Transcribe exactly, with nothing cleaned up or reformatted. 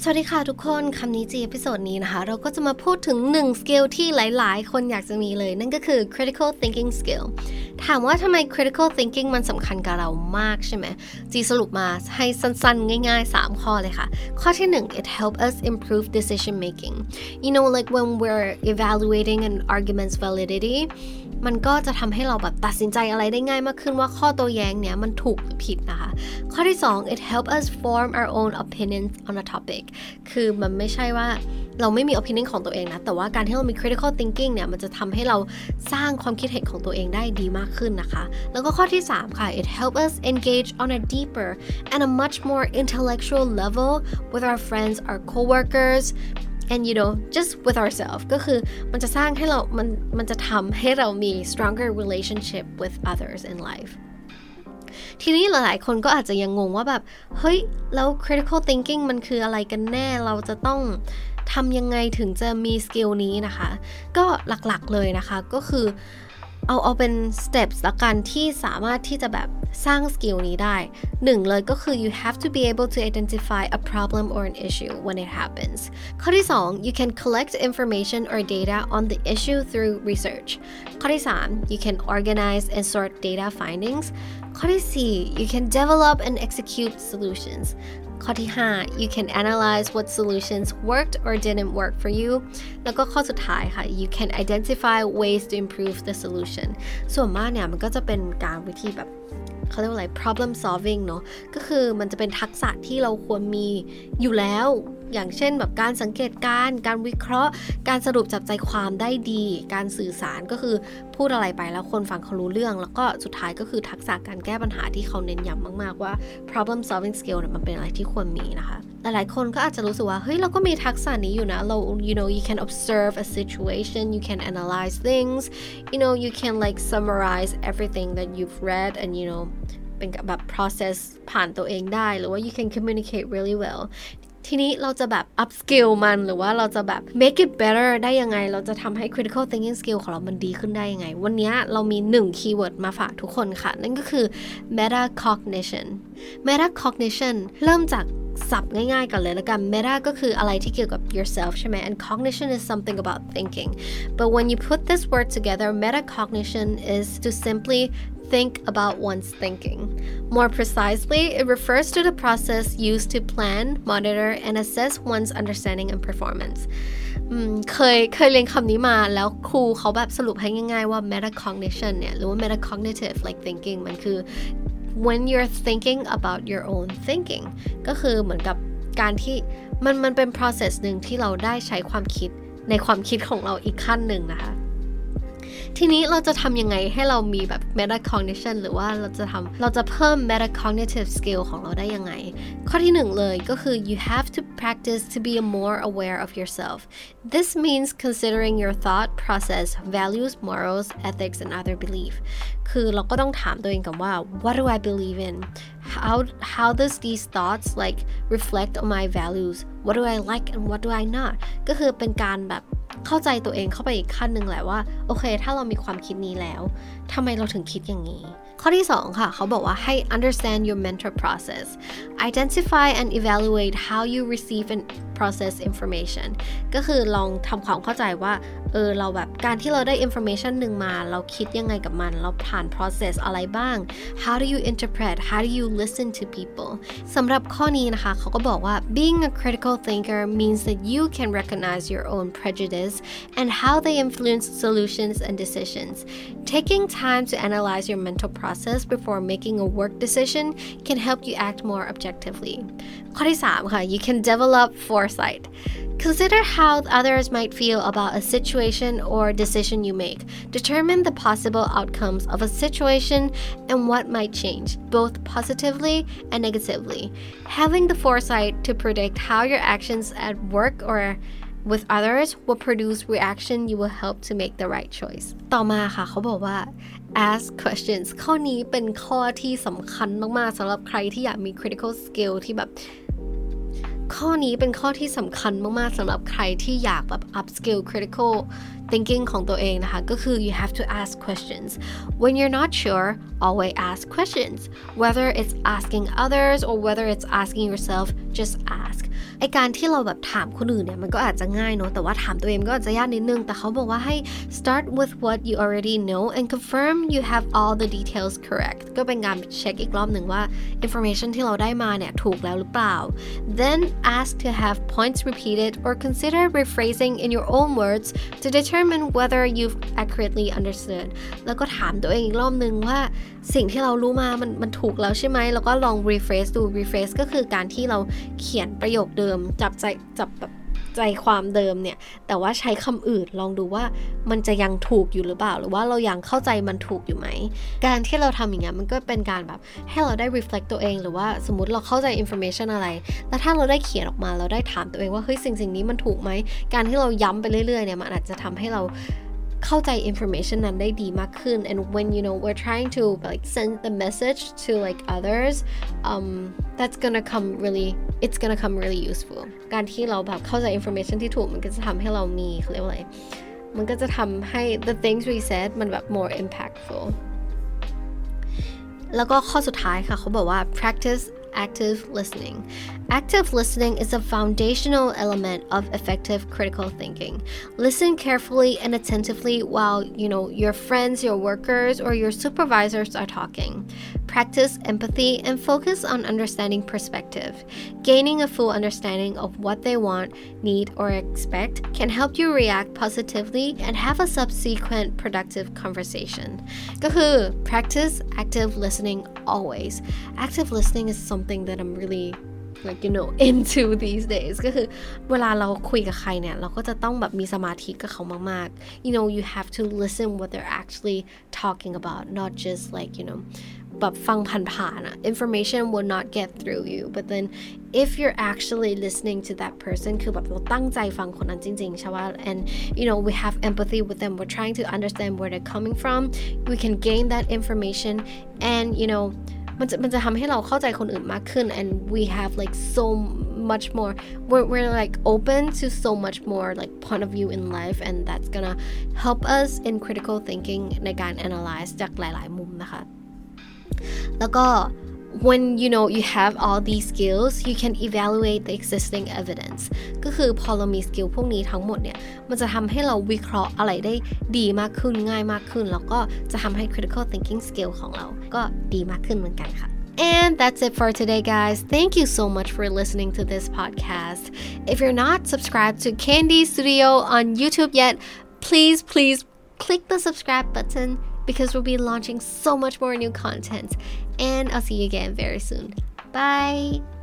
สวัสดีค่ะทุกคนคำนี้จีเอพิโซดนี้นะคะเราก็จะมาพูดถึงหนึ่งสกิลที่หลายๆคนอยากจะมีเลยนั่นก็คือ critical thinking skill ถามว่าทำไม critical thinking มันสำคัญกับเรามากใช่ไหมจีสรุปมาให้สั้นๆง่ายๆสามข้อเลยค่ะข้อที่หนึ่ง it helps us improve decision making you know like when we're evaluating an argument's validity มันก็จะทำให้เราแบบตัดสินใจอะไรได้ง่ายมากขึ้นว่าข้อโต้แย้งเนี่ยมันถูกหรือผิดนะคะข้อที่สอง it helps us form our own opinions on a topic คือมันไม่ใช่ว่าเราไม่มี opinion ของตัวเองนะแต่ว่าการที่เรามี critical thinking เนี่ยมันจะทำให้เราสร้างความคิดเห็นของตัวเองได้ดีมากขึ้นนะคะแล้วก็ข้อที่สามค่ะ it helps us engage on a deeper and a much more intellectual level with our friends our coworkers and you know just with ourselves ก็คือมันจะสร้างให้เรามันมันจะทำให้เรามี stronger relationship with others in life ทีนี้หลายๆคนก็อาจจะยังงงว่าแบบเฮ้ยแล้ว critical thinking มันคืออะไรกันแน่เราจะต้องทำยังไงถึงจะมีสกิลนี้นะคะก็หลักๆเลยนะคะก็คือเอาเอาเป็น steps ละกันที่สามารถที่จะแบบสร้างสกิลนี้ได้หนึ่งเลยก็คือ you have to be able to identify a problem or an issue when it happens ข้อที่สอง you can collect information or data on the issue through research ข้อที่สาม you can organize and sort data findings ข้อที่สี่ you can develop and execute solutions ข้อที่ห้า you can analyze what solutions worked or didn't work for you แล้วก็ข้อสุดท้ายค่ะ you can identify ways to improve the solution ส่วนมากเนี่ยมันก็จะเป็นการวิธีแบบเขาเรียกว่าอะไร problem solving เนอะก็คือมันจะเป็นทักษะที่เราควรมีอยู่แล้วอย่างเช่นแบบการสังเกตการณ์การวิเคราะห์การสรุปจับใจความได้ดีการสื่อสารก็คือพูดอะไรไปแล้วคนฟังเขารู้เรื่องแล้วก็สุดท้ายก็คือทักษะการแก้ปัญหาที่เขาเน้นย้ำมากๆว่า problem solving skill เนี่ยมันเป็นอะไรที่ควรมีนะคะหลายๆคนก็อาจจะรู้สึกว่าเฮ้ยเราก็มีทักษะนี้อยู่นะเรา you know you can observe a situation you can analyze things you know you can like summarize everything that you've read and you know เป็นแบบ process ผ่านตัวเองได้หรือว่า you can communicate really well ทีนี้เราจะแบบ up skill มันหรือว่าเราจะแบบ make it better ได้ยังไงเราจะทำให้ critical thinking skill ของเรามันดีขึ้นได้ยังไงวันนี้เรามีหนึ่ง keyword มาฝากทุกคนค่ะนั่นก็คือ metacognition metacognition เริ่มจากศัพท์ง่ายๆกันเลยแล้วกัน meta ก็คืออะไรที่เกี่ยวกับ yourself ใช่ไหม and cognition is something about thinking but when you put this word together metacognition is to simply think about one's thinking. More precisely, it refers to the process used to plan, monitor, and assess one's understanding and performance. เคยเคยเรียนคำนี้มาแล้วครูเขาแบบสรุปให้ง่ายๆว่า metacognition เนี่ยหรือว่า metacognitive like thinking มันคือ when you're thinking about your own thinking ก็คือเหมือนกับการที่มันมันเป็น process หนึ่งที่เราได้ใช้ความคิดในความคิดของเราอีกขั้นหนึ่งนะคะทีนี้เราจะทำยังไงให้เรามีแบบ metacognition หรือว่าเราจะทำเราจะเพิ่ม metacognitive skill ของเราได้ยังไงข้อที่หนึ่งเลยก็คือ you have to practice to be more aware of yourself this means considering your thought process values morals ethics and other belief คือเราก็ต้องถามตัวเองกันว่า what do I believe in how how does these thoughts like reflect on my values what do I like and what do I not ก็คือเป็นการแบบเข้าใจตัวเองเข้าไปอีกขั้นหนึ่งแหละว่าโอเคถ้าเรามีความคิดนี้แล้วทำไมเราถึงคิดอย่างนี้ข้อที่สองค่ะเขาบอกว่าให้ understand your mental process identify and evaluate how you receive and process information ก็คือลองทำความเข้าใจว่าเออเราแบบการที่เราได้ information หนึ่งมาเราคิดยังไงกับมันเราผ่าน process อะไรบ้าง how do you interpret how do you listen to people สำหรับข้อนี้นะคะเขาก็บอกว่า being a critical thinker means that you can recognize your own prejudice and how they influence solutions and decisions taking time to analyze your mental process before making a work decision can help you act more objectively ข้อที่สามค่ะ you can develop foresight Consider how others might feel about a situation or decision you make. Determine the possible outcomes of a situation and what might change, both positively and negatively. Having the foresight to predict how your actions at work or with others will produce reaction you will help to make the right choice. ต่อมาค่ะเขาบอกว่า ask questions ข้อนี้เป็นข้อที่สำคัญมากๆสำหรับใครที่อยากมี critical skill ที่แบบข้อนี้เป็นข้อที่สำคัญมากๆสำหรับใครที่อยากแบบ up skill critical thinking ของตัวเองนะคะก็คือ you have to ask questions when you're not sure always ask questions whether it's asking others or whether it's asking yourself just ask ไอการที่เราแบบถามคนอื่นเนี่ยมันก็อาจจะง่ายเนอะแต่ว่าถามตัวเองก็อาจจะยากนิดนึงแต่เขาบอกว่าให้ start with what you already know and confirm you have all the details correct ก็เป็นการเช็คอีกรอบหนึ่งว่า information ที่เราได้มาเนี่ยถูกแล้วหรือเปล่า then ask to have points repeated or consider rephrasing in your own words to determine whether you've accurately understood แล้วก็ถามตัวเองอีกรอบหนึ่งว่าสิ่งที่เรารู้มามันมันถูกแล้วใช่ไหมแล้วก็ลอง rephrase ดู rephrase ก็คือการที่เราเขียนประโยคเดิมจับใจจับแบบใจความเดิมเนี่ยแต่ว่าใช้คำอื่นลองดูว่ามันจะยังถูกอยู่หรือเปล่าหรือว่าเรายังเข้าใจมันถูกอยู่ไหมการที่เราทำอย่างเงี้ยมันก็เป็นการแบบให้เราได้ reflect ตัวเองหรือว่าสมมติเราเข้าใจ information อะไรแล้วถ้าเราได้เขียนออกมาเราได้ถามตัวเองว่าเฮ้ยสิ่งสิ่งนี้มันถูกไหมการที่เราย้ำไปเรื่อยๆเนี่ยมันอาจจะทำให้เราเข้าใจ information นั้นได้ดีมากขึ้น and when you know we're trying to like send the message to like others um that's gonna come really it's gonna come really useful การที่เราแบบเข้าใจ information ที่ถูกมันก็จะทำให้เรามีเขาเรียกว่าอะไรมันก็จะทำให้ the things we said มันแบบ more impactful แล้วก็ข้อสุดท้ายค่ะเขาบอกว่า practice active listening. Active listening is a foundational element of effective critical thinking. Listen carefully and attentively while, you know, your friends, your workers, or your supervisors are talking. Practice empathy and focus on understanding perspective. Gaining a full understanding of what they want, need, or expect can help you react positively and have a subsequent productive conversation. ก็คือ practice active listening always. Active listening is something that I'm really like you know into these days ก็คือเวลาเราคุยกับใครเนี่ยเราก็จะต้องแบบมีสมาธิกับเขามากๆ you know you have to listen what they're actually talking about not just like you know แบบฟังผ่านๆอะ information will not get through you but then if you're actually listening to that person คือแบบเราตั้งใจฟังคนนั้นจริงๆใช่ป่ะ and you know we have empathy with them we're trying to understand where they're coming from we can gain that information and you knowมันจะมันจะทำให้เราเข้าใจคนอื่นมากขึ้น and we have like so much more we're, we're like open to so much more like point of view in life and that's gonna help us in critical thinking ในการ analyze จากหลายๆมุมนะคะแล้วก็ when you know you have all these skills you can evaluate the existing evidence ก็คือพอเรามีสกิลพวกนี้ทั้งหมดเนี่ยมันจะทำให้เราวิเคราะห์อะไรได้ดีมากขึ้นง่ายมากขึ้นแล้วก็จะทำให้ critical thinking skill ของเราก็ดีมากขึ้นเหมือนกันค่ะ And that's it for today, guys. Thank you so much for listening to this podcast. If you're not subscribed to Candy Studio on YouTube yet, please, please click the subscribe button because we'll be launching so much more new content. And I'll see you again very soon. Bye!